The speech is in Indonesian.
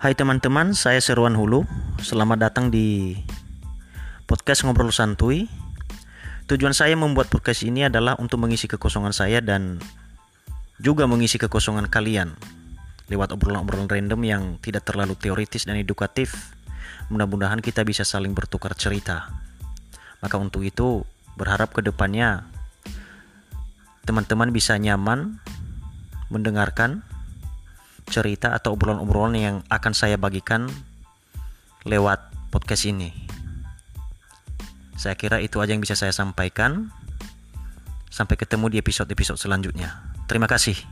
Hai teman-teman, saya Seruan Hulu. Selamat datang di podcast Ngobrol Santuy. Tujuan saya membuat podcast ini adalah untuk mengisi kekosongan saya dan juga mengisi kekosongan kalian lewat obrolan-obrolan random yang tidak terlalu teoritis dan edukatif. Mudah-mudahan kita bisa saling bertukar cerita. Maka untuk itu, berharap ke depannya teman-teman bisa nyaman mendengarkan cerita atau obrolan-obrolan yang akan saya bagikan lewat podcast ini. Saya kira itu aja yang bisa saya sampaikan. Sampai ketemu di episode-episode selanjutnya. Terima kasih.